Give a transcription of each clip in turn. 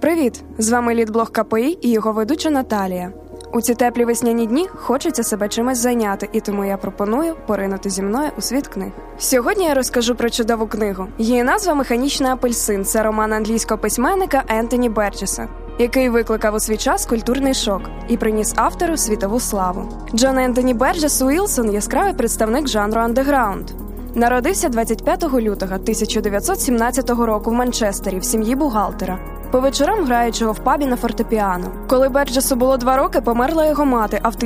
Привіт! З вами Літблог КПІ і його ведуча Наталія. У ці теплі весняні дні хочеться себе чимось зайняти, і тому я пропоную поринути зі мною у світ книг. Сьогодні я розкажу про чудову книгу. Її назва «Механічний апельсин» – це роман англійського письменника Ентоні Берджеса, який викликав у свій час культурний шок і приніс автору світову славу. Джон Ентоні Берджес Уілсон – яскравий представник жанру андеграунд. Народився 25 лютого 1917 року в Манчестері в сім'ї бухгалтера, по вечорам граючого в пабі на фортепіано. Коли Берджесу було 2 роки, померла його мати, а в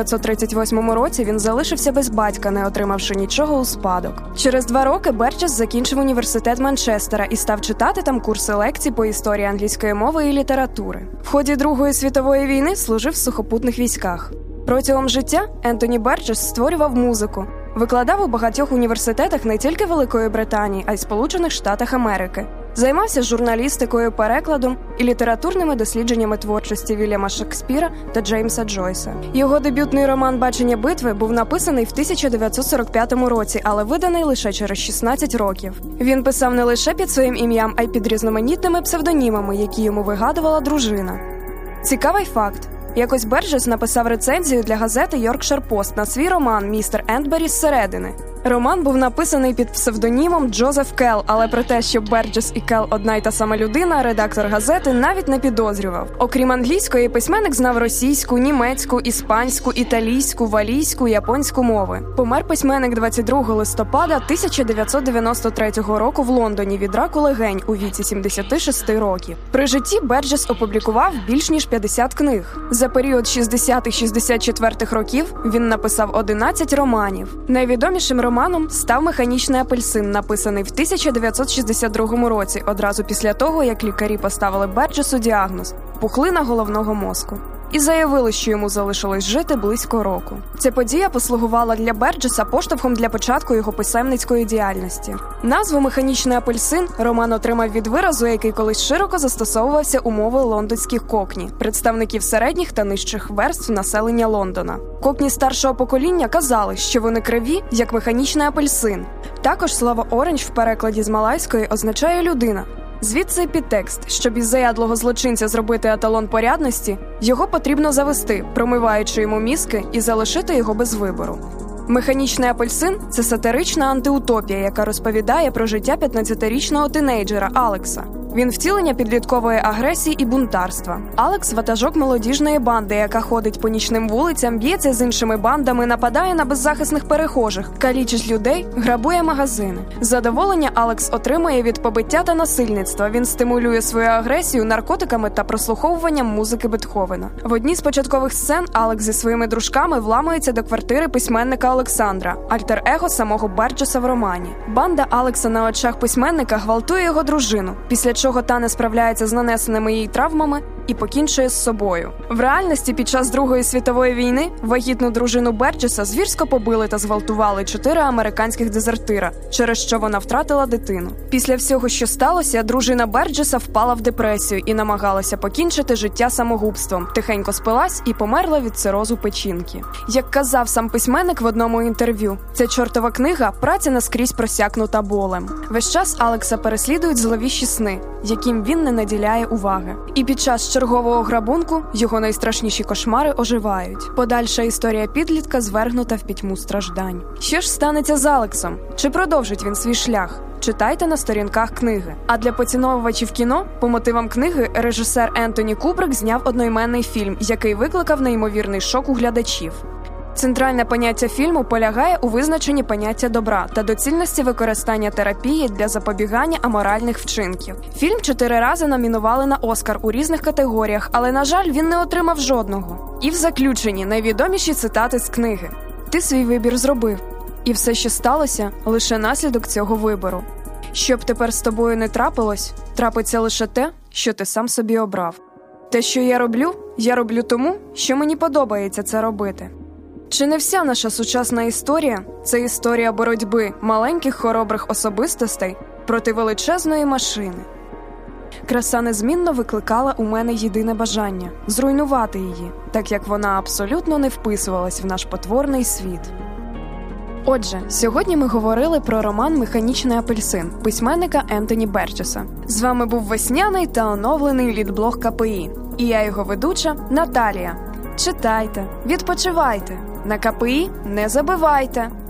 1938 році він залишився без батька, не отримавши нічого у спадок. Через 2 роки Берджес закінчив університет Манчестера і став читати там курси лекцій по історії англійської мови і літератури. В ході Другої світової війни служив в сухопутних військах. Протягом життя Ентоні Берджес створював музику, викладав у багатьох університетах не тільки Великої Британії, а й Сполучених Штатах Америки. Займався журналістикою, перекладом і літературними дослідженнями творчості Вільяма Шекспіра та Джеймса Джойса. Його дебютний роман «Бачення битви» був написаний в 1945 році, але виданий лише через 16 років. Він писав не лише під своїм ім'ям, а й під різноманітними псевдонімами, які йому вигадувала дружина. Цікавий факт. Якось Берджес написав рецензію для газети «Йоркшир Пост» на свій роман «Містер Ентбері зсередини». Роман був написаний під псевдонімом Джозеф Келл, але про те, що Берджес і Келл одна й та сама людина, редактор газети навіть не підозрював. Окрім англійської, письменник знав російську, німецьку, іспанську, італійську, валійську, японську мови. Помер письменник 22 листопада 1993 року в Лондоні від раку легень у віці 76 років. При житті Берджес опублікував більш ніж 50 книг. За період 60-64 років він написав 11 романів. Найвідомішим романом став «Механічний апельсин», написаний в 1962 році, одразу після того, як лікарі поставили Берджесу діагноз – пухлина головного мозку. І заявили, що йому залишилось жити близько року. Ця подія послугувала для Берджеса поштовхом для початку його писемницької діяльності. Назву «Механічний апельсин» роман отримав від виразу, який колись широко застосовувався у мови лондонських кокні, представників середніх та нижчих верств населення Лондона. Кокні старшого покоління казали, що вони криві, як механічний апельсин. Також слово «оранж» в перекладі з малайської означає «людина». Звідси підтекст: щоб із заядлого злочинця зробити еталон порядності, його потрібно завести, промиваючи йому мізки, і залишити його без вибору. «Механічний апельсин» – це сатирична антиутопія, яка розповідає про життя 15-річного тинейджера Алекса. Він втілення підліткової агресії і бунтарства. Алекс – ватажок молодіжної банди, яка ходить по нічним вулицям, б'ється з іншими бандами, нападає на беззахисних перехожих, калічить людей, грабує магазини. Задоволення Алекс отримує від побиття та насильництва. Він стимулює свою агресію наркотиками та прослуховуванням музики Бетховена. В одній з початкових сцен Алекс зі своїми дружками вламується до квартири письменника Олександра, альтер-его самого Берджеса в романі. Банда Алекса на очах письменника гвалтує його дружину, після чого та не справляється з нанесеними їй травмами і покінчує з собою. В реальності під час Другої світової війни вагітну дружину Берджеса звірсько побили та зґвалтували 4 американських дезертира, через що вона втратила дитину. Після всього, що сталося, дружина Берджеса впала в депресію і намагалася покінчити життя самогубством, тихенько спилась і померла від цирозу печінки. Як казав сам письменник в одному інтерв'ю, ця чортова книга – праця наскрізь просякнута болем. Весь час Алекса переслідують зловіщі сни, яким він не наділяє уваги. І під час чергового грабунку його найстрашніші кошмари оживають. Подальша історія підлітка звергнута в пітьму страждань. Що ж станеться з Алексом? Чи продовжить він свій шлях? Читайте на сторінках книги. А для поціновувачів кіно, по мотивам книги, режисер Ентоні Кубрик зняв одноіменний фільм, який викликав неймовірний шок у глядачів. Центральне поняття фільму полягає у визначенні поняття добра та доцільності використання терапії для запобігання аморальних вчинків. Фільм 4 рази номінували на Оскар у різних категоріях, але, на жаль, він не отримав жодного. І в заключенні найвідоміші цитати з книги. «Ти свій вибір зробив. І все, що сталося, лише наслідок цього вибору. Щоб тепер з тобою не трапилось, трапиться лише те, що ти сам собі обрав. Те, що я роблю тому, що мені подобається це робити». Чи не вся наша сучасна історія – це історія боротьби маленьких хоробрих особистостей проти величезної машини? Краса незмінно викликала у мене єдине бажання – зруйнувати її, так як вона абсолютно не вписувалась в наш потворний світ. Отже, сьогодні ми говорили про роман «Механічний апельсин» письменника Ентоні Берджеса. З вами був весняний та оновлений літблог КПІ. І я його ведуча Наталія. Читайте, відпочивайте. На КПІ не забивайте.